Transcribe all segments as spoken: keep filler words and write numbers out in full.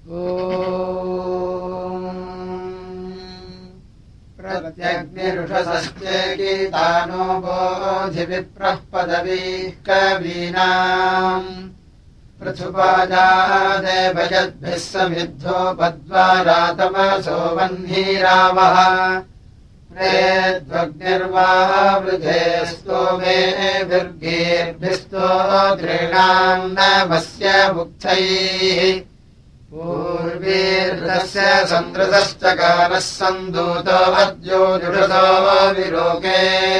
प्रत्यग्निरुषसश्चेकितानो बोधिविप्रः पदवीः कवीनाम् पृथुपाजादेवयद्भिः समिद्धो पद्वारातमसो वह्निरावः प्रेद्वग्निर्वावृधे स्तोमे विर्गीर्भिस्तो दृढाम् नमस्य मुक्थैः पूर्वीर्दस्य सन्दृतश्चकारः सन्दूतो अद्यो जुषतो विलोके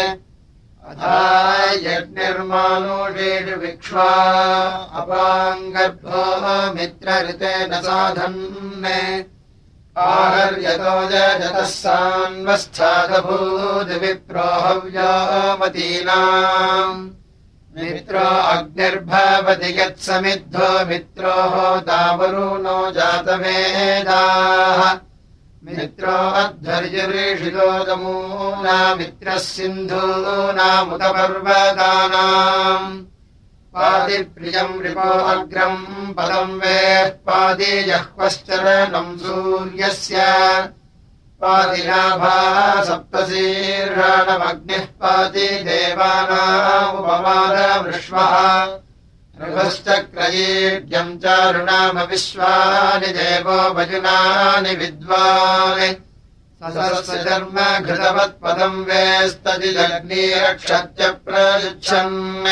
यज्ञर्मानुषेषुविक्ष्वा अपाङ्गर्भो मित्रऋतेन साधन्ने आहर्यतो जतः सान्वस्थादभूद्विप्रो हव्योमतीनाम् मित्रो अग्निर्भवति यत्समिद्धो मित्रो होतावरुणो जातवेदाः मित्रो अध्वर्युरीषितो दमूना मित्रः सिन्धूनामुतपर्वतानाम् पादिप्रियम् रिपो अग्रम् पदम् वेः पादिजह्वश्चरणम् सूर्यस्य पादिनाभा सप्तशीर्षाणमग्निः पाति देवानामुपमादवृष्वः ऋभश्चक्रयीड्यम् चारुणामविश्वानि देवो वजुनानि विद्वान् ससर्म घृतवत्पदम् वेस्तदिदग्निरक्षत्य प्रयुच्छन्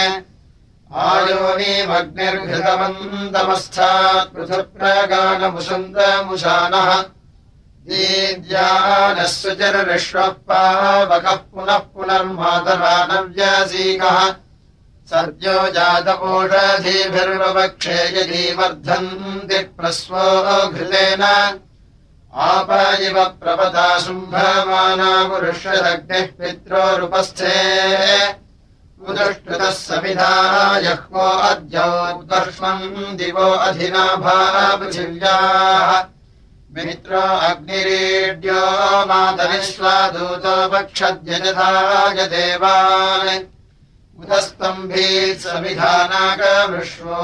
आयोनिमग्निर्घृतवन्तमस्थात् पृथुप्रगानमुसन्तमुशानः दीद्यानः सुचरविश्वः पावकः पुनः पुनर्मातरानव्यासीकः सद्यो जातपोषधीभिर्ववक्षे यदि वर्धन्ति प्रस्वो घृतेन आप इव प्रपदा शुम्भमाना पुरुषदग्निः पित्रोरुपस्थे उदुष्टुतः समिधा जह्वो अद्योद्वर्ष्मम् दिवो अधिनाभा पृथिव्याः मित्रो अग्निरीड्यो मातरिष्वादूतो वक्षद्यजथाय देवान् उदस्तम्भीत् समिधानाकवृष्वो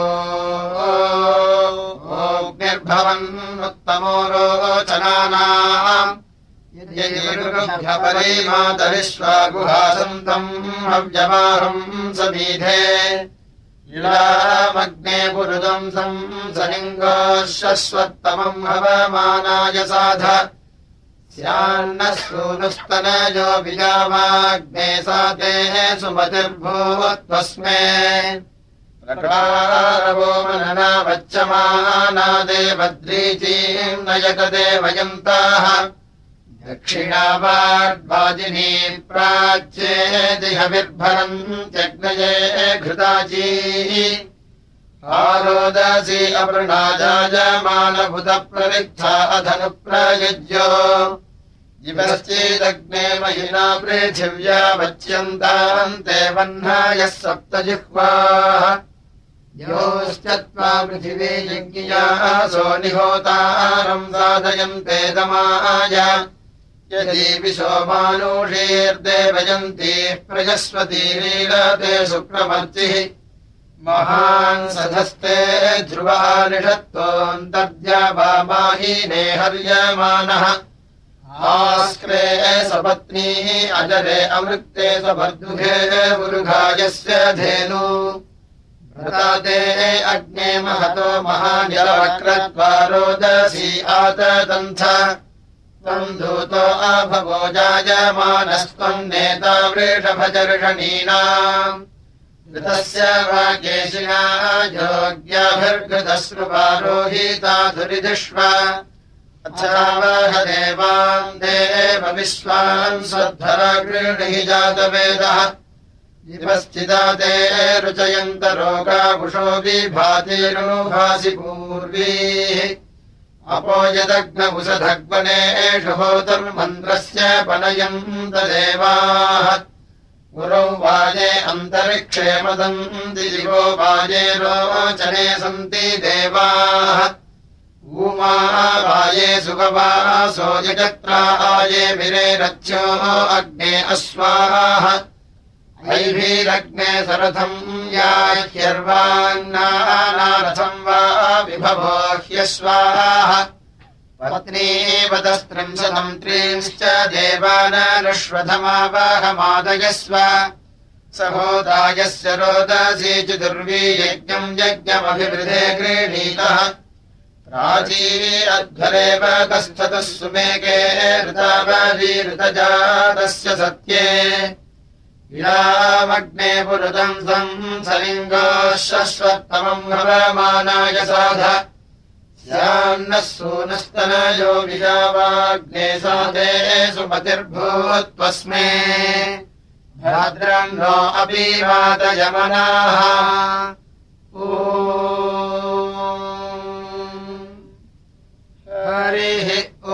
अग्निर्भवन्नुत्तमो रोचनानाम् यद्यपरिमातरिष्वा गुहासन्तम् हव्यवाहम् समीधे इलामग्ने पुरुदंसम् सलिङ्गोश्वत्तमम् हवमानाय साध स्यान्नः सूनुस्तनयो विजावाग्ने सातेः सुमतिर्भूत्वस्मे प्रकारवो मनना वच्यमाना देवद्रीचीम् नयत देवयन्ताः दक्षिणावाड्वाजिनी प्राच्येदिहविर्भरन्त्यग्नये घृताची आरोदसी अवृणाजायमानभुतप्ररिक्था अधनुप्रयुज्यो जिवश्चेदग्ने महिना पृथिव्या वच्यन्तान्ते वह्नायः सप्तजिह्वाः योश्चत्वा पृथिवी यज्ञियासो निहोतारम् साधयन्ते दमाय यदि विशोमानुषीर्देवयन्तीः प्रजस्वतीरीलते शुक्रमर्चिः महान् सधस्ते ध्रुवः निषत्तोऽन्तर्द्यावामाहीने हर्यमानः आस्क्रे सपत्नीः अजरे अमृक्ते सभर्दुघे उरुघायस्य धेनु प्रताते अग्ने महतो महानिरवक्रत्वारोदसी आतदन्थ त्वम् दूतो अभवो जायमानस्त्वम् नेता वृषभजर्षणीनाम् घृतस्य वाकेशिना योग्याभिर्घृतश्रुवारोहिता धुरिधिष्व अथावह देवान् देव विश्वान् सद्धरा गृह्णीहि जातवेदः जिवश्चिदा ते रुचयन्त रोगाकुशो विभातिरुभासि पूर्वीः अपो यदग्नवुषधग्वनेषु होतुर्मन्त्रस्य पनयन्त देवाः गुरौ वाजे अन्तरिक्षे मदन्ति दिवो वाजे रोचने सन्ति देवाः ऊमा वाये सुगवासो यजत्रा आये विरेरथ्यो अग्ने अश्वाः ऐभिरग्ने सरथम् याह्यर्वान्नानारथम् वा विभवो ह्यस्वाः पत्नीवतस्त्रिंशतम् त्रींश्च देवानारुष्वधमावाहमादयस्व सहोदायस्य रोदसी चतुर्वी यज्ञम् यज्ञमभिवृधे गृहीतः प्राची अध्वरेव कस्थतः सुमेके ऋतावरी ऋतजातस्य सत्ये विरामग्ने पुरुतम् संसलिङ्गः शश्वत्तमम् भवमानाय साध स्यान्नः सूनस्तनयो विजावाग्ने साधे सुमतिर्भूत्वस्मे भद्रन्नो अपि वातयमनाः ॐ हरिः ॐ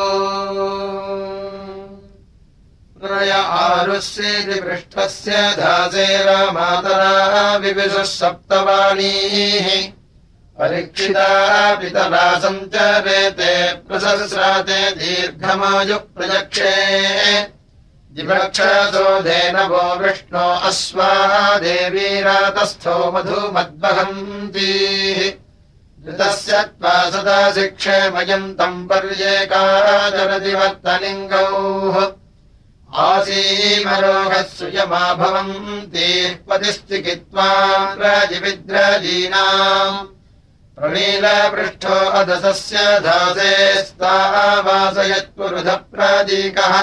प्रय आरुष्येति पृष्ठस्य धासेरामातरा विविशः सप्तवाणीः परीक्षिता पितरा सञ्चरेते प्रसस्राते दीर्घमायुः प्रजक्षे जिवक्षसोधेन वो विष्णो अश्वाः देवीरातस्थो मधुमद्वहन्तीः ऋतस्य त्वा सदा शिक्षेमयन्तम् पर्येका जलदिवर्तलिङ्गौः आसीमरोहः सुयमा भवन्तीः पतिश्चिकित्वा रजिविद्रजीनाम् प्रणीलपृष्ठो अधसस्य धासेस्तावासयत्पुरुधप्रदीकः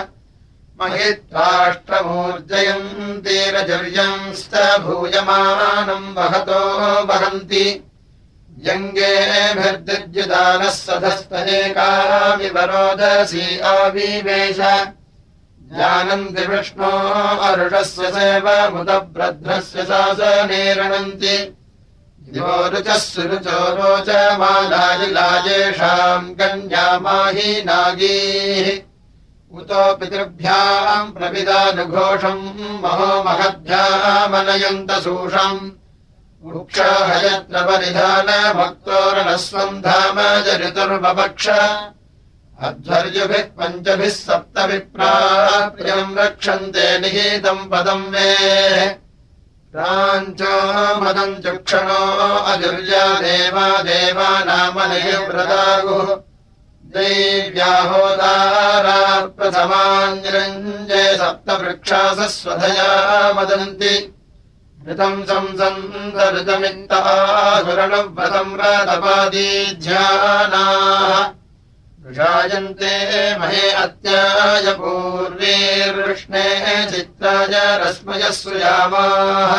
महित्वाष्ट्रमूर्जयन्तीरजर्यंश्च भूयमानम् वहतो वहन्ति यङ्गेभिर्दिद्युदानः सधस्तनेकाविवरोदसी आविवेश जानन्ति विष्णो अरुषस्य सेवमुदभ्रध्रस्य शासनेरणन्ति दिवोरुचः सुरुचो रोचमालाजिलाजेषाम् कन्यामाही नागीः उतो पितृभ्याम् प्रविदानुघोषम् महो महद्भ्यामनयन्तसूषम् वृक्षहयत्र परिधानभक्तोरणस्वम् धाम जरितुर्वपक्ष अध्वर्युभिः पञ्चभिः सप्तविप्राः प्रियम् रक्षन्ते निहितम् पदम् मे प्राञ्चो मदम् चक्षणो अजुर्या देवा देवानामनिव्रतागुः दैव्याहोदारा प्रथमाञ्जरञ्जे सप्तवृक्षासः स्वधया मदन्ति ऋतम् संसन्तऋतमित्तासुरणव्रतम् व्रतपादीध्यानाः वृषायन्ते महे अत्याय पूर्वीर्विष्णे चित्राय रश्मयः सुयामाः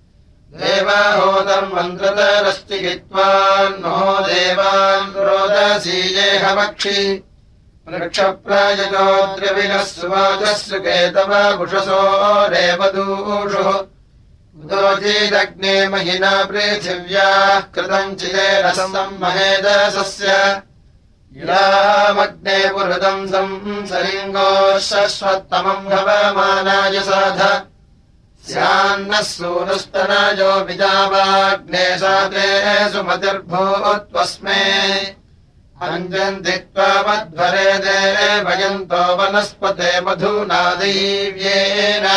देवाहोतर्मन्त्रतरश्चिकित्वान्नो देवान् रोदसीजेहवक्षि वृक्षप्रायजो द्रविणः सुवाचः सुकेतव बुषसो रेवदूषुः उदोचीदग्ने महिना पृथिव्याः कृतम् चिदेरसम् महेदसस्य इलामग्ने पुरुतम् संसलिङ्गोः शश्वत्तमम् भवमानाय साध स्यान्नः सूनुस्तनयो विजावाग्ने साते सुमतिर्भूत्वस्मे अञ्जन्ति त्वामध्वरे देवयन्तो वनस्पते मधुना दैव्येन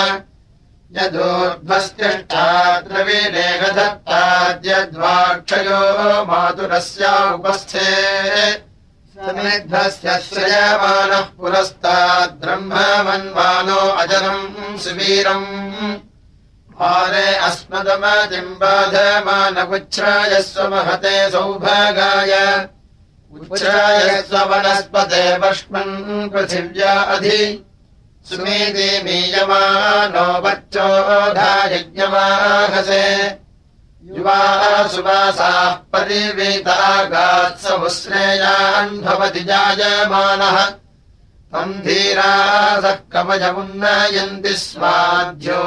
यदूर्ध्वस्तिष्ठाद्रविरेगधत्ताद्यद्वाक्षयो मातुरस्या उपस्थे समिद्धस्य श्रयमानः पुरस्ताद्ब्रह्ममन्वानो अजरम् सुवीरम् हारे अस्मदमतिम् बाधमानकुच्छ्रायस्व महते सौभागाय उच्छ्रायस्व वनस्पते वर्ष्मन् पृथिव्या अधि सुमेधे मीयमानो वच्चोधा यज्ञवाहसे युवा सुवासाः परिवेतागात्समुश्रेयान् भवति जायमानः तम् धीरासः कवचमुन्नयन्ति स्वाध्यो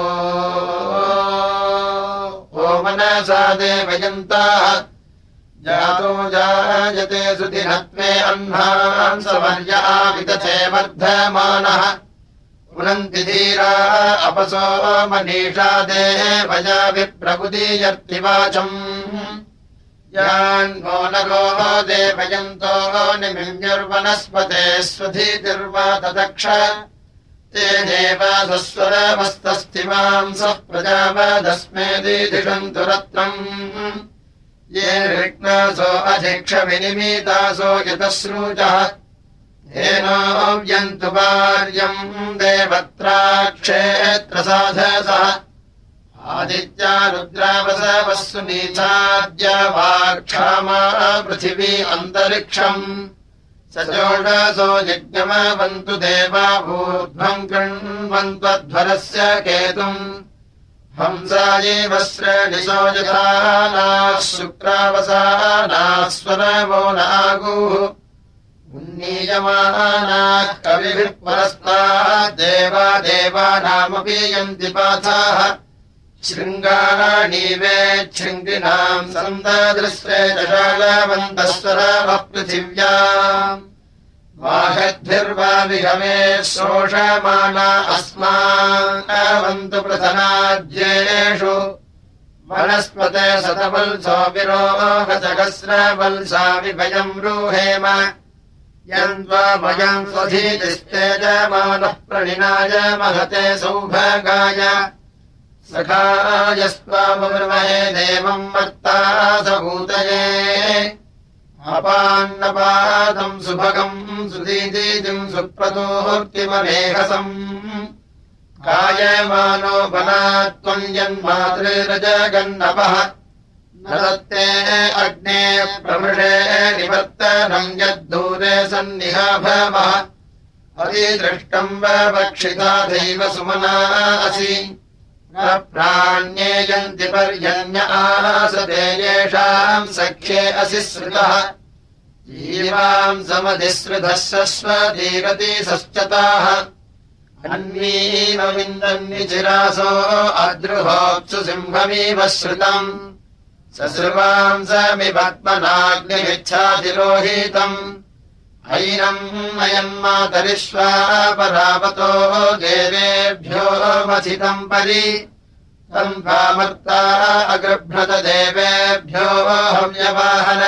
ओ मनसा देवयन्ताः जातो जायते सुदिनत्वे अह्नान् सवर्या विदथे वर्धमानः पुनन्ति धीरा अपसो मनीषा देवया विप्रबुदीयर्तिवाचम् यान्वो नगो देवयन्तो निमिन्युर्वनस्पते स्वधीतिर्वा तदक्ष तेनेव सस्वरमस्तस्थिमांसः प्रजापदस्मेदिषन्तु रत्नम् ये विघ्नासो अधिक्षविनिमितासो यतश्रूचः येनोऽव्यन्तु वार्यम् देवत्राक्षेत्रसाधसः आदित्या रुद्रावसवः सुनीचाद्य वाक्षामा पृथिवी अन्तरिक्षम् सजोषसो यज्ञमवन्तु देवा ऊर्ध्वम् कृण्वन्त्वध्वरस्य केतुम् हंसायैव श्रेणिसो यथा नाः शुक्रावसानाः स्वरवो नागुः उन्नीयमानाः कविभिः परस्तात् देवा देवानामपि यन्ति पाथाः शृङ्गाणीवे शृङ्गिणाम् सन्ददृश्रे जशालवन्तः स्वरावः पृथिव्याम् वाहद्भिर्वा विहवे शोषमाना अस्माकवन्तु प्रथनाद्येषु वनस्पते शतवल्सो विरोहसहस्रवल्सा विभयम् रूहेम यन्त्वा भयम् स्वधीतिस्तेजमानः प्रणिनाय महते सौभागाय सखायस्त्वामब्रवहे देवम् मत्ता सभूतये अपान्नपादम् सुभगम् सुदीदिम् सुप्रतोर्तिममेहसम् कायमानो बलात्त्वम् यन्मातृरजगन्नपः न दत्ते अग्ने प्रमृषे निवर्तनम् यद्दूरे सन्निहाभवः अतिदृष्टम् वक्षिता दैव सुमना असि न प्राण्येयन्ति पर्यन्य आसते येषाम् सख्ये असि श्रुतः जीवाम् समधिसृतः स्वधीरति सश्चताः अन्वीमविन्दन्निचिरासो अद्रुहोत्सु सिंहमिव श्रुतम् ससृवाम् समिपद्मनाग्निमिच्छातिरोहितम् ऐनम् अयम् मातरिष्वा परावतो देवेभ्यो मथितम् परि तम् भामर्ता अगृभ्रत देवेभ्यो हव्यवाहन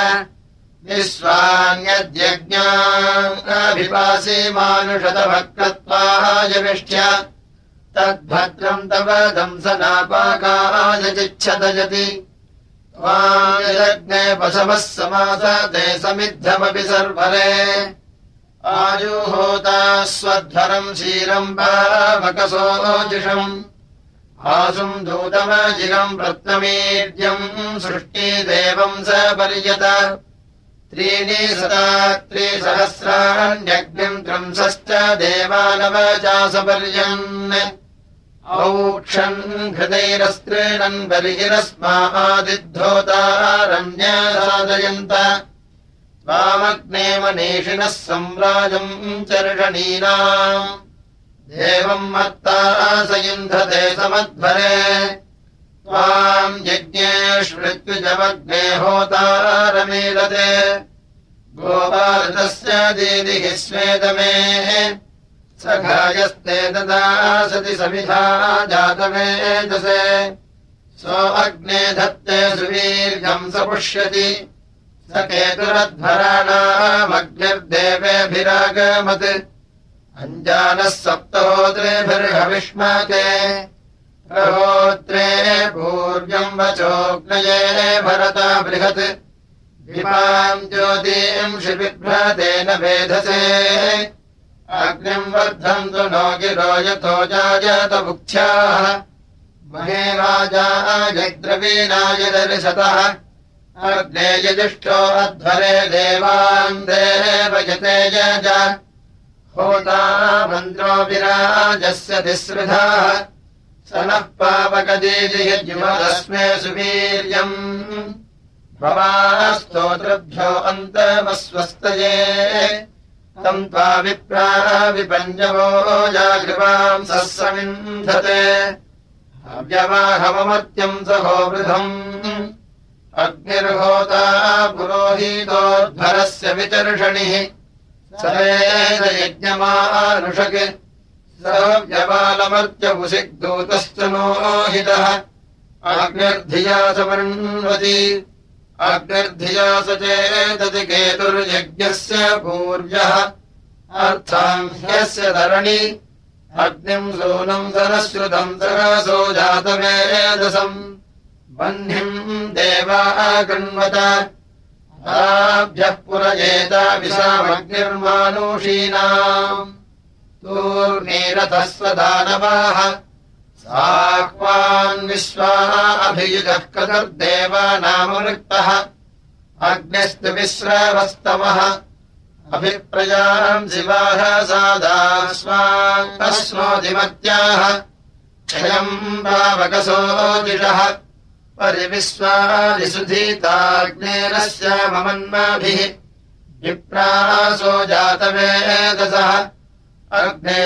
निःस्वान्यद्यज्ञाभिपासि मानुषतभक्तत्वाय विष्ट्य तद्भद्रम् तव दंसनापाकाय चिच्छतयति त्वायज्ञे पशवः समासते समिद्धमपि सर्वरे आजुहोता स्वध्वरम् क्षीरम् पावकसोजिषम् आसुम् दूतमजिगम् रत्नमीड्यम् सृष्टिदेवम् स पर्यत त्रीणि सता त्रिसहस्राण्यग्निम् त्रंसश्च देवानवचासपर्यन् औक्षन् हृदैरस्त्रीणन् बर्हिरस्मादिद्धोतारण्यसादयन्त त्वामग्ने मनीषिणः सम्राजम् चर्षणीनाम् देवम् मत्ता स युन्धते समध्वरे त्वाम् यज्ञेष्वृत्विजमग्ने होतारमीलते गोपालतस्य दीदिः स्वेदमे सखायस्ते तदा सति समिधा जातवेदसे सो अग्ने धत्ते सुवीर्यम् स पुष्यति स केतुरध्वराणामग्निर्देवेभिरागमत् अञ्जानः सप्तहोत्रेभिर्हविष्माके प्रहोत्रे पूर्व्यम् वचोऽग्नये भरता बृहत् विपाम् ज्योतिम् शिबिभ्रतेन वेधसे अग्निम् वर्धन्तु नो गिरो यतो जायत बुक्थ्याः महे वाजायद्रवीणाय दर्शतः अग्ने यजिष्ठो अध्वरे देवान् देवयते यज होता मन्त्रो विराजस्य तिसृधाः स नः पावकदीर्यज्युमदस्मे सुवीर्यम् भवास्तोत्रभ्यो अन्तमस्वस्तये तम् त्वा विप्रा विपञ्जवो जागृवाम् सस्समिन्धते अव्यवाहममर्त्यम् सहोवृधम् अग्निर्होता पुरोहितोद्धरस्य विचर्षणिः सवेदयज्ञमानुषक् सव्यवालमर्त्यपुसिग्दूतश्च नोहितः अग्निर्धिया समन्वति अग्निर्धिया स चेदति केतुर्यज्ञस्य पूर्व्यः अर्थाम् ह्यस्य धरणि अग्निम् सूनम् सरश्रुतम् सरसो जातवेदसम् वह्निम् देवा कृण्वत ताभ्यः पुरजेत विशामग्निर्मानुषीणाम् तूर्णीरथस्व दानवाः साक्वान् विश्वा अभियुजः कदर्देवानामवृक्तः अग्निस्तु विश्रवस्तमः अभिप्रजाम् शिवाः सादास्वान् तस्मोदिमत्याः क्षयम् भावकसोजिषः परिविश्वादिसुधीताग्नेरस्य ममन्माभिः विप्रासो जातवेदसः अग्ने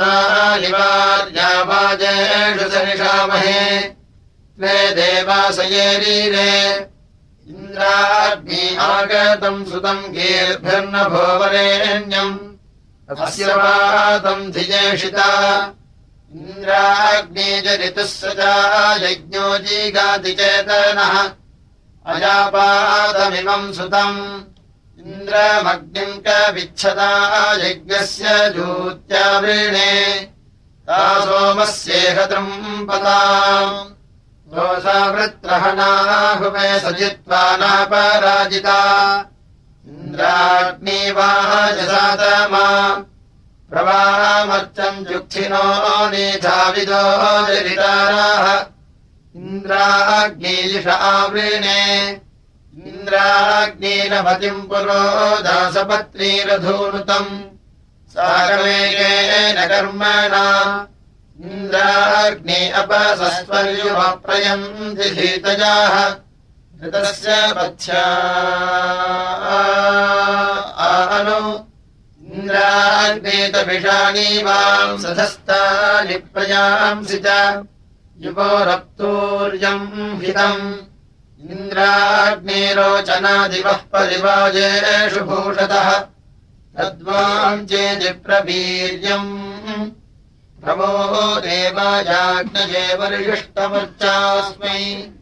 विश्वानिवार्यावाजेषु सनिषामहे त्वे देवासयेरीरे इन्द्राग्नि आगतम् सुतम् गीर्भिर्नभो वरेण्यम् अस्य वातम् धिजेषिता इन्द्राग्नि जरितुः सजा यज्ञो जीगाति चेतनः अजापातमिमम् सुतम् इन्द्रमग्निम् कविच्छदा यज्ञस्य जूत्यावृणे ता सोमस्येह तृम्पताम् दोषावृत्रहणाहुवे सजित्वा नापराजिता इन्द्राग्निवाजसातमा प्रवामर्चम् जुक्षिनो नीधाविदो जरिताराः इन्द्राग्निलिष आवृणे इन्द्राग्निरमतिम् पुरो दासपत्नीरधूनुतम् सारवेगेन कर्मणा इन्द्राग्नि अपसस्वर्युमप्रयन्ति धीतजाः ऋतस्य पथ्या आनु इन्द्राग्नेतभिषाणीवाम् सधस्तानि प्रयांसि च युवोरप्तूर्यम् हितम् इन्द्राग्नेरोचनादिवः परिवाजेषु भूषतः तद्वाम् चेदिप्रवीर्यम् प्रमो देवायाज्ञये वरिष्ठमर्चास्मै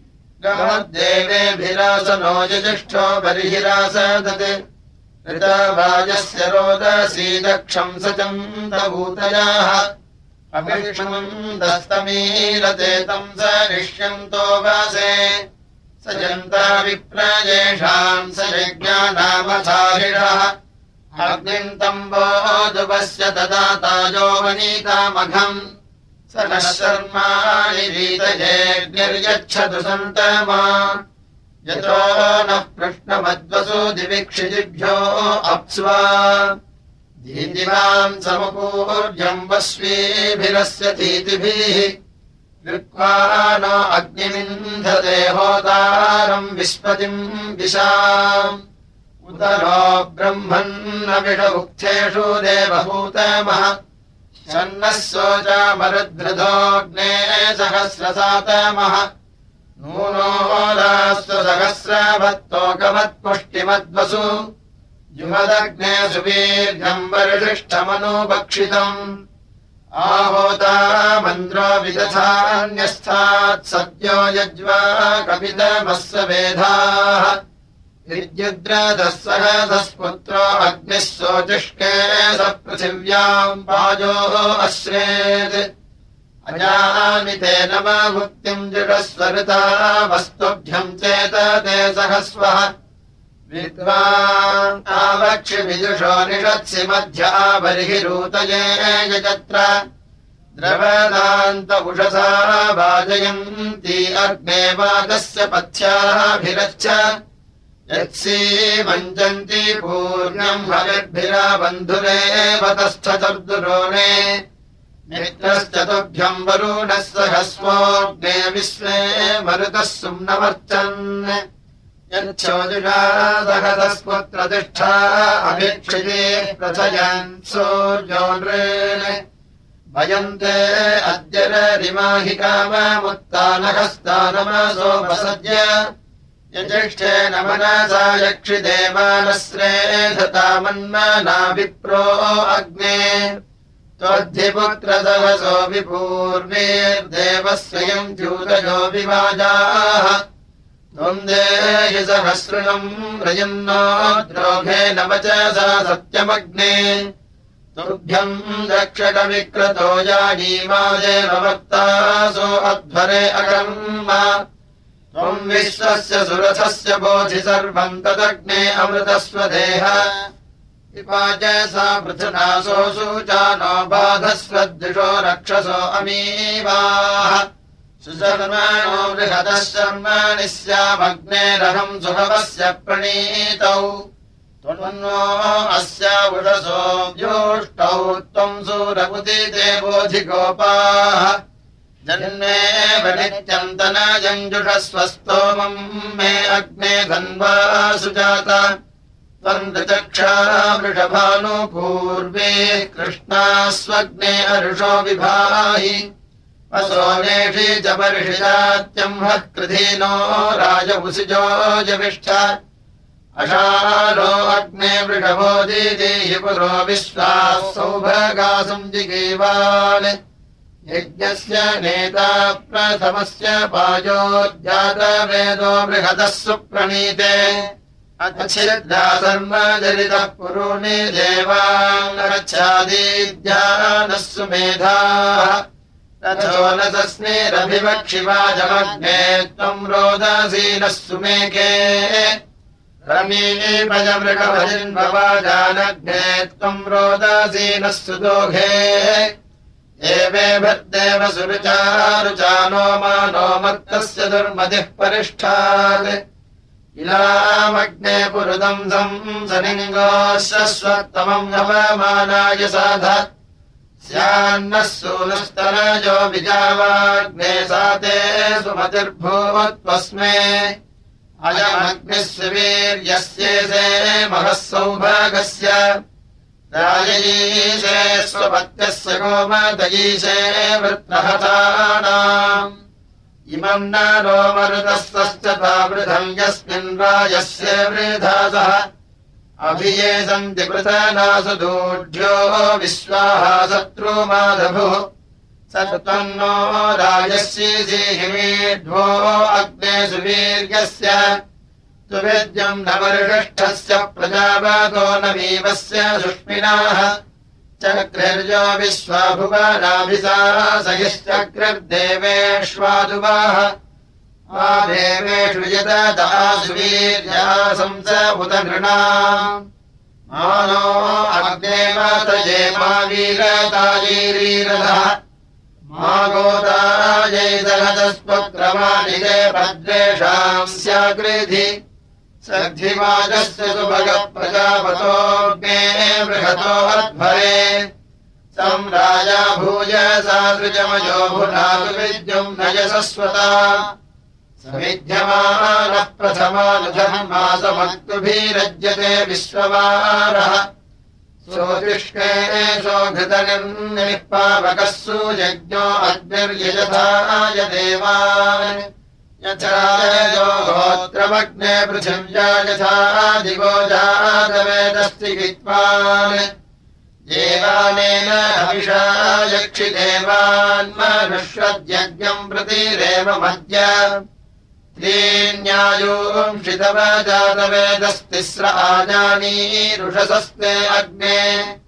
गमद्देवेभिरासनो यजिष्ठो बर्हिरासदत् ऋतवाजस्य रोदसी दक्षम् सचन्दभूतयाः अभिष्मम् दस्तमीरते तम् स निष्यन्तो वासे स जन्ता विप्रजेषाम् स यज्ञानामधारिणः अग्निम् तम्बोदुपस्य ददातायो वनीतामघम् स नः शर्माणि रीतयेऽग्निर्यच्छतु सन्तमा यतो नः पृष्णमद्वसु दिविक्षिजिभ्यो अप्स्वा धीतिवाम् समुपूर्यम् वस्वीभिरस्य धीतिभिः कृत्वा नो अग्निमिन्धते होतारम् विस्पतिम् विशाम् उत नो ब्रह्मन्नविषमुक्थेषु देवहूतमः शन्नः सोचामरुद्धृतोऽग्ने सहस्रसातमः नूनोदास्तु सहस्रभत्तोकमत्पुष्टिमद्वसु जुमदग्ने सुवीर्घम् वरिष्ठमनुपक्षितम् आहोता मन्द्रो विदधान्यस्थात् सद्यो यज्वा कपितमस्य वेधाः विद्युद्रथः सहसस्पुत्रो अग्निः सोचिष्के स पृथिव्याम् वाजोः अश्रेत् अजामि ते नम भुक्तिम् जुषस्वरुता वस्तुभ्यम् चेतते सहस्वः विद्वान् आवक्षि विदुषो निषत्सि मध्या बर्हिरूतये यजत्र द्रवदान्त उषसा वाजयन्ती अग्ने वागस्य पथ्याभिरच्छ यत्सीमञ्जन्ति पूर्णम् हविर्भिरा बन्धुरेव तस्थचतुर्दुरोणे मित्रश्चतुभ्यम् वरुणः सहस्वोऽग्ने विश्वे मरुतः सुम्नवर्चन् यच्छोजुषा सहतस्पुत्रतिष्ठा अभिक्षिते प्रथयन् सूर्यो नृन् भयन्ते अद्य रिमाहि काममुत्तानहस्तानमसोपसद्य यज्येष्ठेन मनसा यक्षिदेवानश्रेधतामन्मना विप्रो अग्ने त्वद्धिपुत्रसहसो विपूर्वीर्देवः स्वयम् द्यूतयो विवाजाः त्वम् देहि सहस्रणम् रजन्नो द्रोघेन वचसा सत्यमग्ने तुभ्यम् दक्षिणविक्रतो जानीमादेव वक्तासो अध्वरे अकर्म त्वम् विश्वस्य सुरथस्य बोधि सर्वम् तदग्ने अमृतस्वदेह विपाच सा पृथुनासो सूचानो बाधस्वद्विषो रक्षसो अमीवाः सुशर्माणो बृहदः शर्माणि स्यामग्नेरहम् सुभवस्य प्रणीतौ त्वन्नो अस्यावुषसो व्योष्टौ त्वम् सूरमुदिते बोधिगोपाः जन्मे वनित्यन्तनायञ्जुषस्वस्तोमम् मे अग्ने धन्वा सुजात त्वन्दचक्षा वृषभानु पूर्वे कृष्णास्वग्ने अरुषो विभाहि वसोनेषि च परिषिजात्यम् हः कृधीनो राजवुसिजो जविष्ठ अशालो अग्ने वृषभो दीदेहि पुरो विश्वाः सौभगासम् जिगीवान् यज्ञस्य नेता प्रथमस्य पायोज्जातवेदो बृहदः सुप्रणीते अच्छिद्धा सर्वजरितः पुरूणि देवाङ्गच्छादीद्यानः सुमेधाः तथो न तस्मेरभिवक्षिवाजमग्ने त्वम् रोदसीनः सुमेके रमीपजमृगभजिन्भवाजानग्ने त्वम् रोदसीनः सुदोघे एवे भद्देव सुरुचारुचानो मानो मर्तस्य दुर्मतिः परिष्ठात् इलामग्ने पुरुदम् संसनिङ्गोश्वत्तमम् नवमानाय साध स्यान्नः सूनस्तनयो विजावाग्ने साते सुमतिर्भूवत्वस्मे अयमग्निः सुवीर्यस्येसे महः सौभागस्य राजयीशे स्वपत्यस्य गोमदयीशे वृत्रहतानाम् इमम् न नो मरुतस्तश्च तावृधम् यस्मिन् राजस्य वृधासः अभिये सन्ति पृतनासु दूढ्यो विश्वाः शत्रुमादभुः स त्वन्नो राजस्यीसीहिमीढ्वो अग्ने सुवीर्यस्य तुवेद्यम् न वर्षष्ठस्य प्रजावातो न वीवस्य सुष्मिनाः चक्रिर्यो विश्वाभुवनाभिसा सहिश्चक्रिर्देवेष्वादुवाः आ देवेषु यदता सुवीर्यासंस उत नृणा मानो अग्ने मातये मा वीरतायैरीरथः मा गोदायैदहतस्पक्रमानिजे भद्रेषाम् स्याकृधि सद्धिवाजस्य सुभगः प्रजापतोऽग्ने बृहतो अध्वरे सम् राजा भूयसा सृजमयो भुनातु विद्युम् नयसस्वता समिध्यमानः प्रथमानुधर्मासमक्तुभिरज्यते विश्ववारः सोतिष्के सोघृतनिर्निः पावकः सुयज्ञो अग्निर्यजथाय देवान् यथा गोत्रमग्ने पृथिव्या यथा दिवो जातवेदस्ति विद्वान् देवानेन हविषा यक्षिदेवान्मनुष्वद्यज्ञम् प्रतिरेव मध्य त्रीण्यायूंषितव जातवेदस्तिस्र आजानीरुषसस्ते अग्ने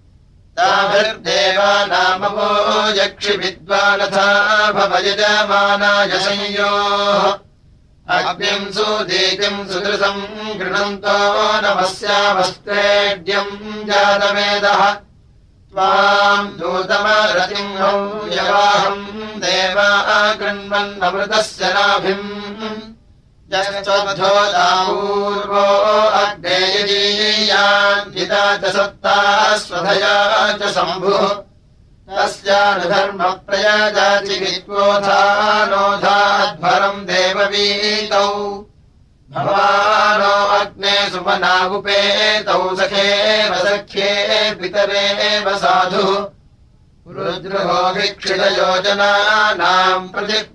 ताभिर्देवानामवो यक्षि विद्वानथा भवयजमानाय संयोः अग्निम् सुदीतिम् सुदृशम् गृह्णन्तो नमस्यामस्तेड्यम् जातवेदः त्वाम् दूतमरतिम् यवाहम् देवा गृह्णन्नमृतस्य नाभिम् यश्चोदापूर्वो अग्नेयजीयान्विता च सत्ता स्वधया च शम्भुः तस्यानुधर्मप्रयाजाति विद्वोधानोधाध्वरम् देववीतौ भवानो अग्ने सुमनावुपेतौ सखेव सख्ये पितरेव साधुः रुद्रो वीक्षितयोजनानाम्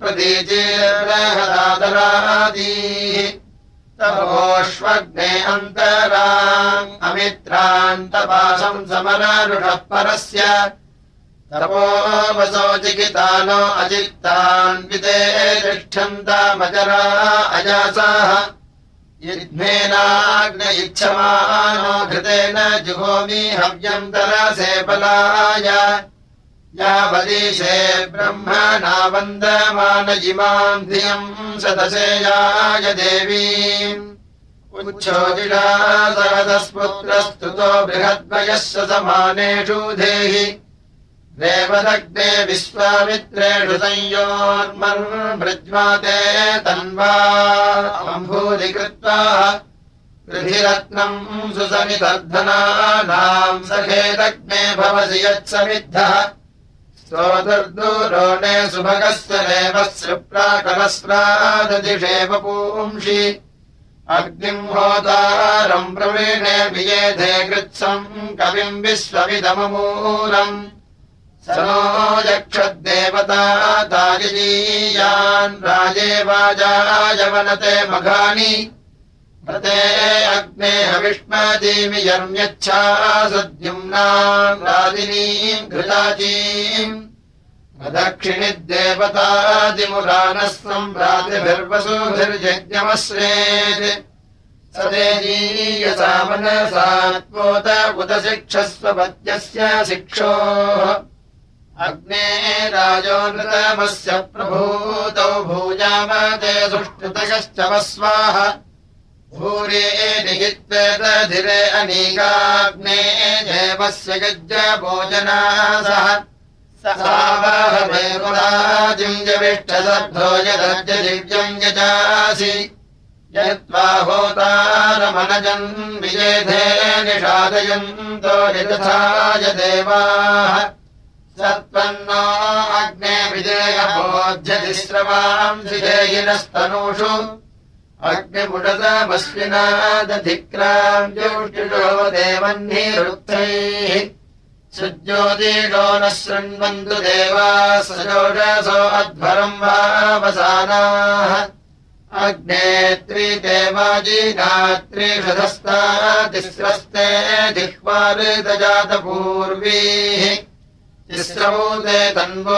प्रतिप्रतीचिर्बृहदादरादीः तपोष्वग्ने अन्तराम् अमित्रान्तपाशम् समरारुषः परस्य तपो वसो चिकितानो अचित्तान्विते तिष्ठन्तामजरा अजासाः यज्ञेनाग्न इच्छमानो घृतेन जुहोमि हव्यम् तरसे बलाय यावदीशे ब्रह्मणा वन्दमान इमाम् धियम् सदसेयाय देवीम् उच्छोदिषा सहदस्पुत्रस्तुतो बृहद्वयस्य समानेषु देहि देवदग्ने विश्वामित्रेषु संयोर्मन्मृज्वाते तन्वा अम्भूरि कृत्वा कृधिरत्नम् सुसमितर्धनानाम् सखेदग्ने भवसि यत्समिद्धः स्तोतर्दूरोणे सुभगस्य देवस्य प्राकरस्राददिशे वपुंषि अग्निम् होतारम् प्रवीणे वियेधे कृत्सम् कविम् विश्वमिदममूलम् स नो यक्षद्देवता तायजीयान् राजे वाजाय वनते मघानि व्रते अग्ने हविष्मदीमि यर्म्यच्छा सद्युम्नाम् रादिनीम् घृताचीम् दक्षिणिद्देवतादिमुरानः सम्भ्रातिभिर्वसुभिर्यज्ञमश्रेत् स तेजीयसा मनसात्वोत उत शिक्षस्व पत्यस्य शिक्षोः अग्ने राजो नृतमस्य प्रभूतौ भूयामते सुष्टुतयश्च वस्वाः भूरे निहित्वेदधिरे अनीकाग्ने देवस्य यज्ञभोजनासः सावाहमेवराजिम् जविष्ठसद्धो यदर्जदिव्यम् यजासि यत्त्वा होतारमनजन् विजेधे निषादयन्तो यथाय देवाः सत्त्वन्नो अग्ने विजेयभोज्यति स्रवांसि देहिनस्तनूषु अग्निमुषतमश्विना दधिक्राम् ज्योष्टिषो देवह्निरुक्तैः सुज्योतिषो न शृण्वन्तु देवाः सजोषसो अध्वरम् वावसानाः अग्ने त्रिदेवाजीनात्रिषधस्ता तिस्रस्ते जिह्वाऋतजातपूर्वीः तिस्रभूते तन्वो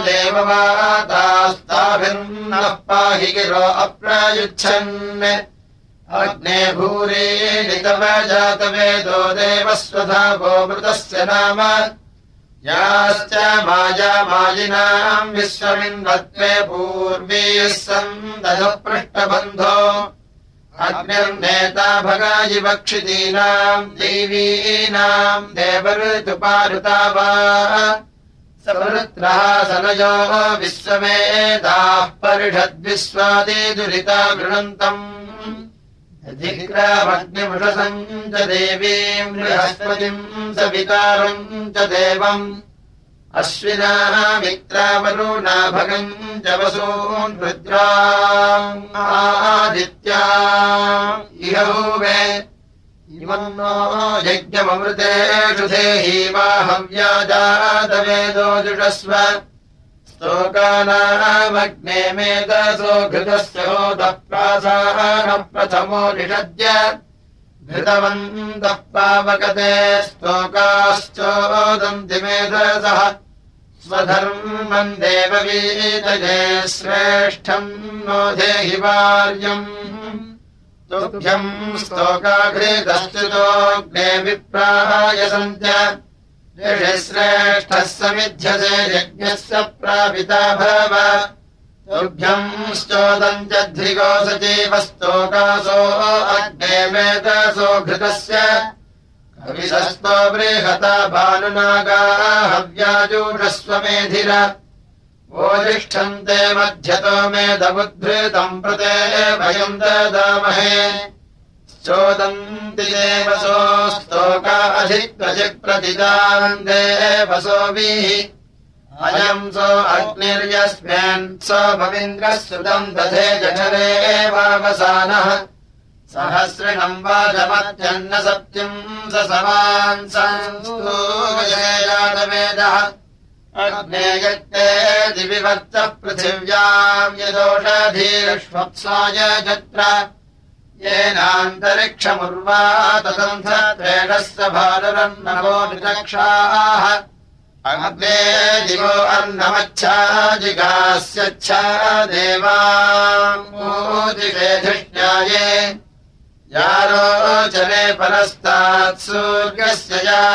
देववातास्ताभिर्नः पाहि गिरो अप्रायुच्छन् अग्ने भूरे नितवजातवेदो देवस्वधा गोमृतस्य नाम याश्च मायामायिनाम् विश्वमिन्वत्वे पूर्वीः सन्दधः पृष्ठबन्धो अग्निर्नेता भगायिवक्षितीनाम् देवीनाम् देवऋतुपारुता वा सवृत्रः सनयो विश्वमेधाः परिषद्विश्वादिदुरिता गृणन्तम् अधिक्रामग्निमुषसम् च देवीम् बृहस्पतिम् सवितारम् च देवम् अश्विनाः मित्रावरुणा भगम् च वसून् रुद्राम् आदित्या इह हुवे इमम् नो यज्ञममृतेषु देहि माहव्या जातवेदो जुषस्व स्तोकानामग्ने मेधसो घृतस्य होतः प्रासानः प्रथमो निषद्य घृतवन्तः पावकते स्तोकाश्चोदन्ति मेधसः स्वधर्मम् देववीतये श्रेष्ठम् नो धेहि वार्यम् तुभ्यम् स्तोकाघृतश्चितोऽग्ने विप्राय सन्त्य श्रेष्ठः समिध्यसे यज्ञस्य प्रापिता भव तुभ्यम् श्चोदम् च ध्रिगो सजीवस्तोकासो अग्ने मेधसो घृतस्य कविशस्तो बृहता भानुनागा हव्याजूषस्वमेधिर ओजिष्ठन्ते मध्यतो मेधमुद्भृतम् प्रते भयम् ददामहे चोदन्ति देवसो स्तोका अधिक्वचिप्रतिदान् देवसोभिः अयम् सो अग्निर्यस्मिन् सोममिन्द्रः सुतम् दधे जठरे वावसानः सहस्रिणम् वाजमत्यन्न सत्यम् स समान् संस्तूयेयादवेदः अग्ने यत्ते दिविवर्तः पृथिव्याम् यदोषधीर्ष्वप्साय जत्र येनान्तरिक्षमुर्वा तदन्थ त्रेणस्य भाररन्नवो निरक्षाः अग्ने दिवो अन्नमच्छा जिगास्यच्छा देवाम् ऊदिषे धृष्ण्याये यारोचने परस्तात् सूर्यस्य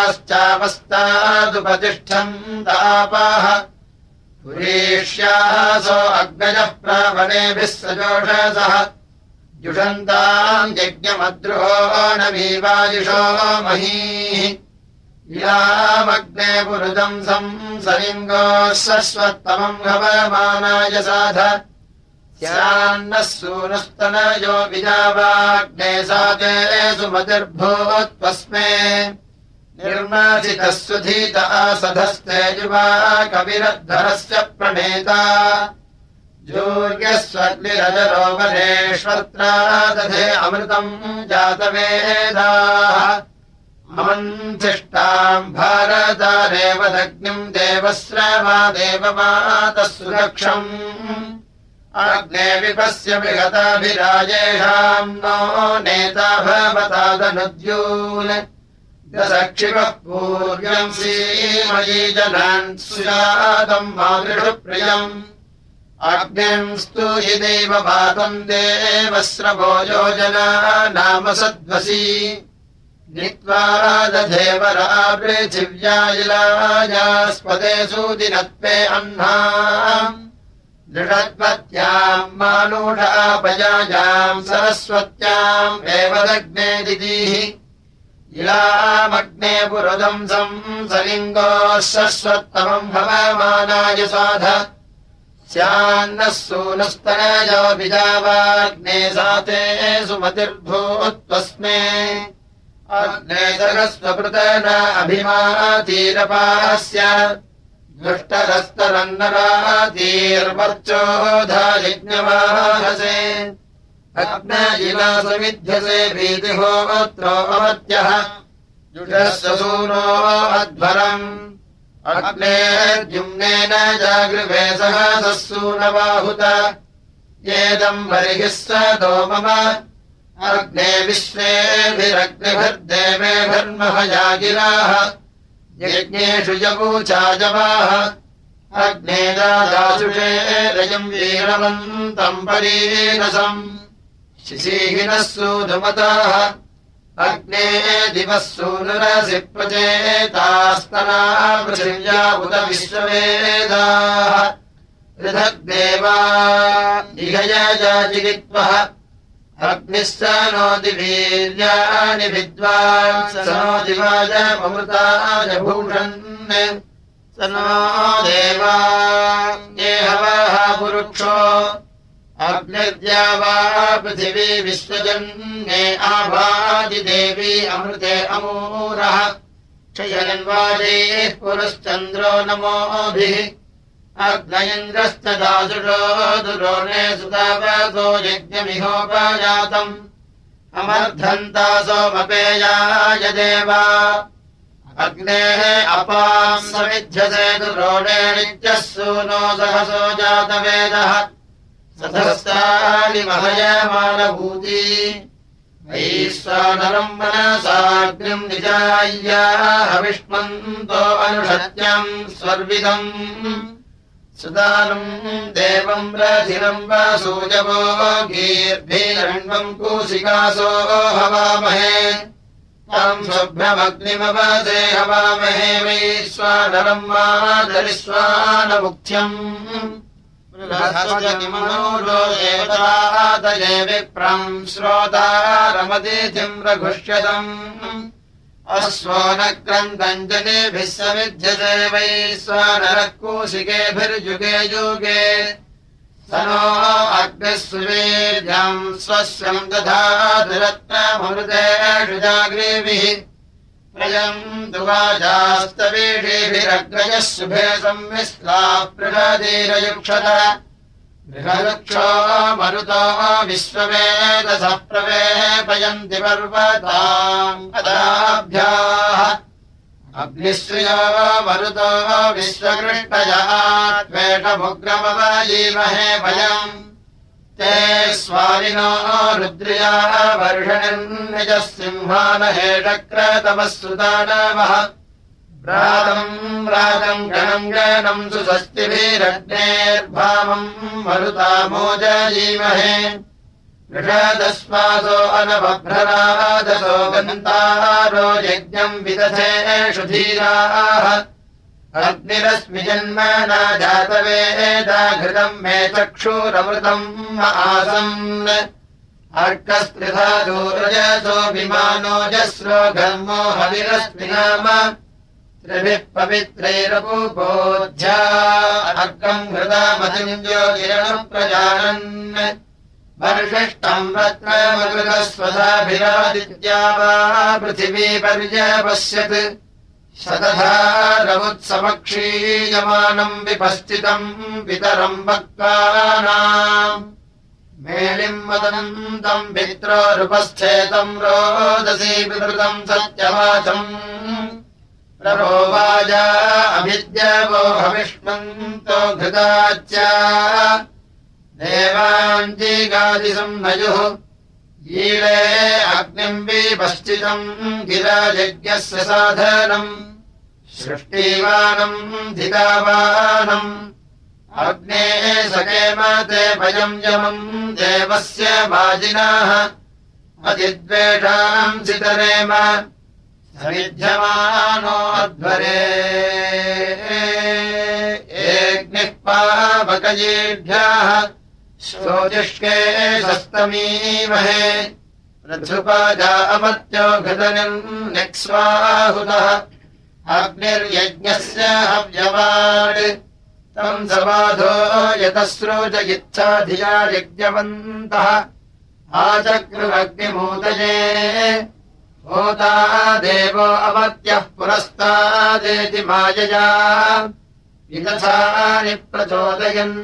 याश्चापस्तादुपतिष्ठन्तापाः पुरीष्यासो अग्नयः प्रावणेभिः सजोषसः जुषन्ताम् यज्ञमद्रुहो नमीवायुषो महीः इलामग्ने पुरुदम् संसलिङ्गोः सस्वत्तमम् हवमानाय साध स्यान्नः सूनुस्तनयो विजावाग्ने साते सुमतिर्भूत्वस्मे निर्मासितः सुधीत आसधस्ते युवा कविरद्धरस्य प्रणेता जूर्यस्वग्निरजरो वरेष्वत्रा दधे अमृतम् जातवेदाः अमन्थिष्टाम् भारतारेव दग्निम् देवश्रवा देवमातः सुरक्षम् अग्ने विपस्य विगताभिराजेषाम् नो नेता भवतादनुद्यून् दशक्षिपः पूर्व्यम् सीमयी जनान् सुजातम् मातृषु प्रियम् अग्निम् स्तूहि देव पातम् देवस्रवो योजना नाम सद्वसी नीत्वा दधेवरा पृथिव्यायिलायास्पदे सूदिनत्वे अह्नाम् दृढत्वत्याम् मानूढापयायाम् सरस्वत्याम् एव दग्ने दिदीः इलामग्ने पुरुदम् संसलिङ्गोः सस्वत्तमम् हवमानाय साध स्यान्नः सूनुस्तनयो विजावाग्ने साते सुमतिर्भूत्वस्मे अग्ने सहस्वपृतन अभिमातीरपास्य दुष्टरस्तरन्नरातीर्वर्चोधायज्ञवाहसे अग्नजिला समिध्यसे भीतिहोत्रो अमत्यः जुषस्य सूनो अध्वरम् अग्ने द्युम्नेन जागृभे सहसः सूनबाहुत येदम् बर्हिः स मम अग्ने विश्वेभिरग्निभिर्देवेभिर्महया यज्ञेषु यवूचाजवाः अग्ने दादासुषे रजम् वीरवन्तम् परीरसम् शिशीहिनः सूनुमताः अग्ने दिवः सूनुरसि प्रचेतास्तना पृथिव्या उत विश्ववेदाः पृथग्देवा इहयजाजिगित्वः अग्निः स नोति वीर्याणि विद्वान् स नो दिवाजममृताय भूषन् स नो देवा ये हवः पुरुक्षो अग्निर्द्या वा पृथिवी विश्वजन्ये आभादिदेवी अमृते अमूरः क्षयन्वाजैः पुरश्चन्द्रो नमोभिः अग्नयन्द्रश्च दासुषो दुरोणे सुतावसो यज्ञमिहोपजातम् अमर्धन्ता सोमपेयाय देवा अग्नेः अपाम् समिध्यसे दुरोणे नित्यः सूनो सहसो जातवेदः सधस्तानि महयमानभूती वैश्वानरम् मनसाग्निम् निजाय्याः विष्मन्तो अनुषत्यम् स्वर्विदम् सुदानम् देवम् रथिरम् वासूजवो गीर्भिरण्वम् कूसिकासो हवामहे तम् शुभ्रमग्निमवसे हवामहे वैश्वानरम् मादरिश्वानमुख्यम् बृहस्पतिमनूरो देवतादये विप्रम् श्रोतारमतिथिम् रघुष्यतम् अश्वो न क्रन्दम् जनेभिः समिध्यसे वैश्वानरः कूसिकेभिर्युगे युगे स नो अग्निः सुवीर्यम् स्वस्यम् दधातु रत्नमृतेषु जाग्रीभिः प्रयम् दुवाजास्तवीषीभिरग्रजः शुभे संविश्लाः पृषदीरयुक्षत बृहरुक्षो मरुतो विश्ववेदसः प्रवेपयन्ति पर्वताम् अदाभ्याः अग्निश्रियो मरुतो विश्वकृष्टयः त्वेषमुग्रमवजीमहे वयम् ते स्वारिनो रुद्र्या वर्षणिर्निजः सिंहानहेषक्रतमः सुदानवः प्रातम् रातम् गणम् गणम् सुषष्टिभिरग्नेर्भावम् मरुतामोजयीमहे ऋषदस्मासो अनवभ्रनादसो गन्तारो यज्ञम् विदधेषु धीराः अग्निरस्मि जन्मना जातवेदा घृतम् मे चक्षुरमृतम् आसन् अर्कस्त्रिधादूरजसो विमानो जस्रो घर्मो हविरस्मि नाम त्रिभिः पवित्रैरपूपोध्या अर्कम् घृतामतिम् ज्योतिरनुप्रजानन् वर्षिष्टम् रत्नमकृतस्वधाभिरादित्या वा पृथिवी पर्यपश्यत् शतधारमुत्समक्षीयमानम् विपस्थितम् पितरम् वक्तानाम् मेलिम् वदन्तम् पित्रोरुपस्थेतम् रोदसी विवृतम् सत्यवाचम् प्रभोवाजा अभिद्यवो हविष्मन्तो घृताच्च देवाञ्जीगादिसम् नयुः ईळे अग्निम् विपश्चितम् गिरायज्ञस्य साधनम् सृष्टिवानम् धितावानम् अग्ने सकेमते भयम् यमम् देवस्य वाजिनाः अतिद्वेषाम् सितरेम समिध्यमानो अध्वरे एग्निः पावकयेभ्यः श्रोतिष्के सस्तमीमहे रथुपाजा अमत्यो घृतनिम् निक्स्वाहुतः अग्निर्यज्ञस्य हव्यवाड् तम् समाधो यतस्रोजयिच्छा धिया यज्ञवन्तः आचक्रुरग्निमूतये होता देवो अमत्यः पुरस्तादेति मायया विदथानि प्रचोदयन्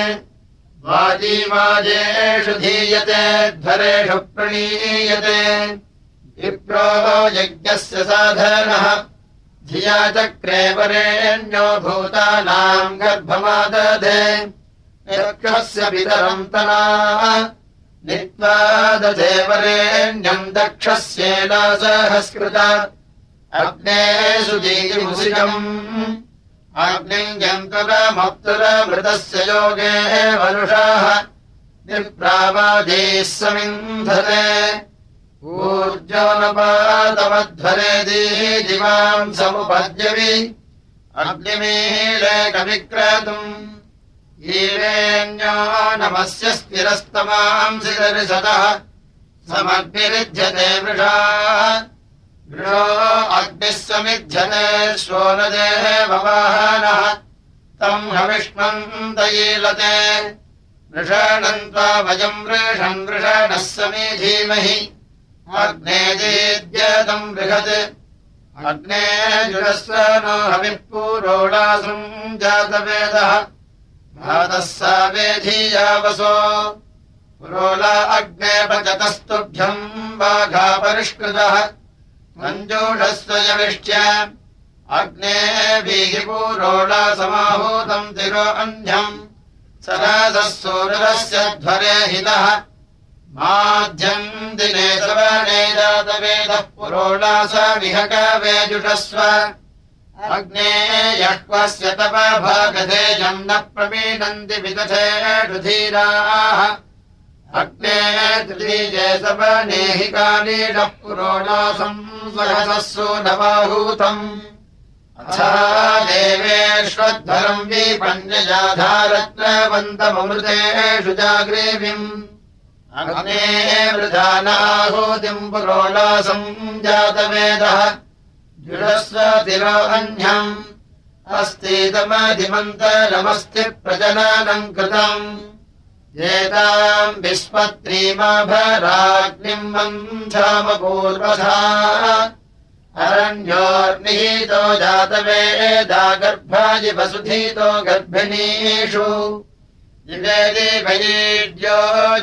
वाजीवाजेषु धीयते ध्वरेषु प्रणीयते विप्रो यज्ञस्य साधनः धिया चक्रे वरेण्यो भूतानाम् गर्भमादधे यक्षस्य पितरम् तना नीत्वा दधे वरेण्यम् दक्षस्येना सहस्कृता अग्ने सुदीमुषिकम् अग्निम् यन्तुरमप्तुरमृतस्य योगे वरुषाः निप्रावादीः समिन्धते ऊर्जोनपातमध्वरेदीः दिवाम् समुपद्यवि अग्निमीले कविक्रतुम् ईरेण्यो नमस्य स्थिरस्तमांसि दर्शतः समग्निरिध्यते वृषा वृषो अग्निः समिध्यते श्वोनदे भवाहनः तम् हविष्मन्तयीलते वृषणन्त्वा वयम् वृषन् वृषणः समीधीमहि अग्ने दीद्यतम् बृहत् अग्ने जुरस्व नो हविः पूरोडासम् जातवेदः भातः सा वेधीयावसो पुरोला अग्ने पचतस्तुभ्यम् वाघा परिष्कृतः मञ्जूषस्व यविष्ट्य अग्ने भीहिपूरोला समाहूतम् तिरो अन्ध्यम् सरासः सूरस्य ध्वरे हितः माध्यम् दिने सवने जातवेदः पुरोला स विहकवेजुषस्व अग्ने यह्वस्य तव भागधेयम् न प्रमीणन्ति विदधेषु धीराः अग्ने तृतीये सवनेहि कालीडः पुरोणासम् सहसः सूनवाहूतम् अथा देवेष्वध्वरम् विपन्यजाधारत्रवन्तममृतेषु जाग्रीविम् अग्ने वृधानाहूतिम् पुरोणासम् जातवेदः जुषस्व तिरो अन्यम् अस्तीतमधिमन्तरमस्ति प्रजननम् कृतम् एताम् विस्पत्रीमाभराग्निम् मन्थामपूर्वधा अरण्योर्निहितो जातवेदा गर्भाजि वसुधीतो गर्भिणीषु जिवेदि वैड्यो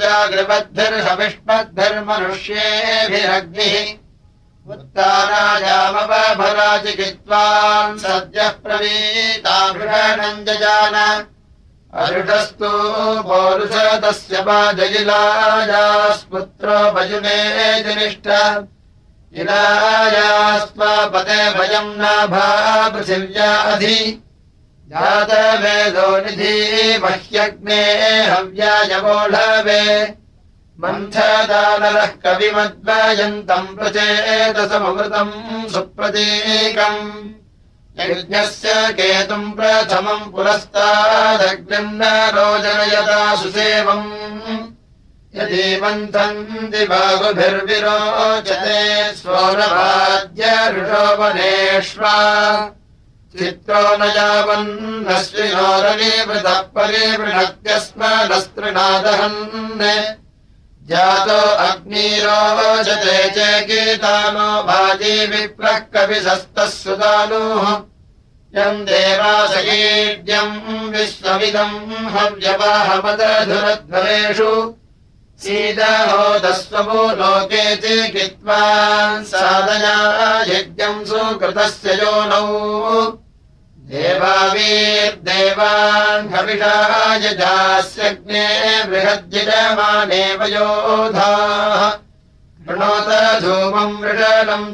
जागृबद्भिर्हविष्मद्भिर्मनुष्येभिरग्निः उत्तारायामवभराचिकित्वान् सद्यः प्रवीताभृषणम् जजान अरुषस्तु पौरुषतस्य पाजगिलायास्पुत्रो भजुने जनिष्ठ इलायास्त्वापते भयम् नाभा पृथिव्या अधि जातवेदो निधि मह्यग्ने हव्यायवोढवे मन्थदानरः कविमद्वयन्तम् प्रचेतसममृतम् सुप्रतीकम् यज्ञस्य केतुम् प्रथमम् पुरस्तादग्निम् न रोजनयता सुसेवम् यदि मन्थन्ति बाहुभिर्विरोचते स्वरवाद्य ऋषोपनेष्वा चित्रो न यावन्नश्विनोरनिवृतः परिवृणत्यस्मनस्तृणादहन् जातो अग्निरोचते चेकीतानो भाजी विप्रः कविशस्तः सुदानुः यम् देवासकीर्यम् विश्वमिदम् हव्यवाहमदधुरध्वरेषु सीदहोदस्वमो लोके चिकित्वा साधया यज्ञम् सुकृतस्य योनौ देवावीर्देवान् हविषाय जास्यग्ने बृहद्यजमानेव योधाः कृणोत धूमम् वृषणम्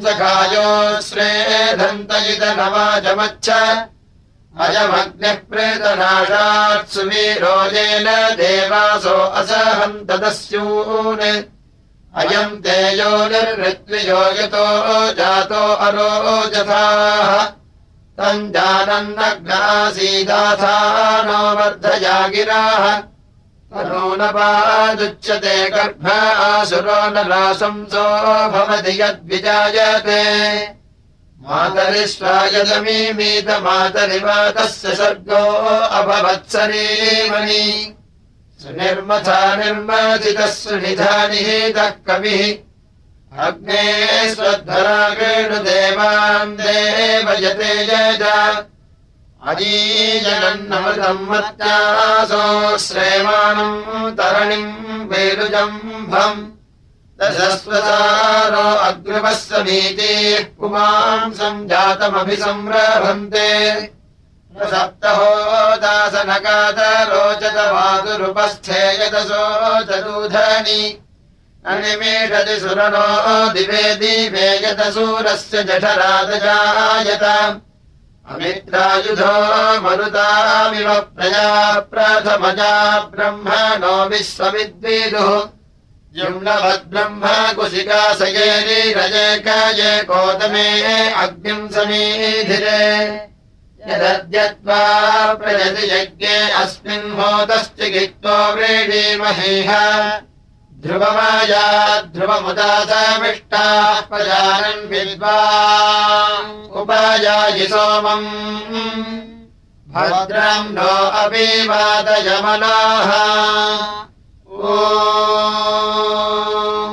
सखायोश्रेधन्तयितनवाजमच्छ अयमग्निः प्रेतनाशात् सुवीरोजेन देवासो असहन्तदस्यून् अयम् तेजो निर्ऋत्विजो यतो जातो अरोजथाः तम् जानन्नग्नासीदाथानो वर्धया गिराः तनूनपादुच्यते गर्भ आसुरो नराशंसो भवति यद्विजायते मातरिष्वायदमीमीत मातरिवातस्य सर्गो अभवत्सरीमणि सुनिर्मथा निर्मथितः सुनिधानिहितः कविः अग्ने स्वध्वरागेणुदेवान् देवयते यजा अजीजनन्नमृतम् मत्यासो श्रेमाणम् तरणिम् वेरुजम्भम् दशस्वसारो अग्रवः समीतिः पुमांसम् जातमभिसंरभन्ते सप्तहो दासनकातरोचत मातुरुपस्थे यतसो चतुधनि अनिमेषति सुरनो दिवे दिवे यतसूरस्य जठरादजायत अमित्रायुधो मरुतामिव प्रजा प्रथमजा ब्रह्मणो विश्वविद्विदुः युम्नवद्ब्रह्म कुशिका सयेरिरजकये कोतमे अग्निम् समीधिरे यदद्यत्वा प्रजति यज्ञे अस्मिन् होतश्चिकित्वा व्रीडीमहेह ध्रुवमाया ध्रुवमुदासमिष्टाः प्रजानन् विद्वा उपायायि सोमम् भद्रम् नो अभिवादयमनाः ओ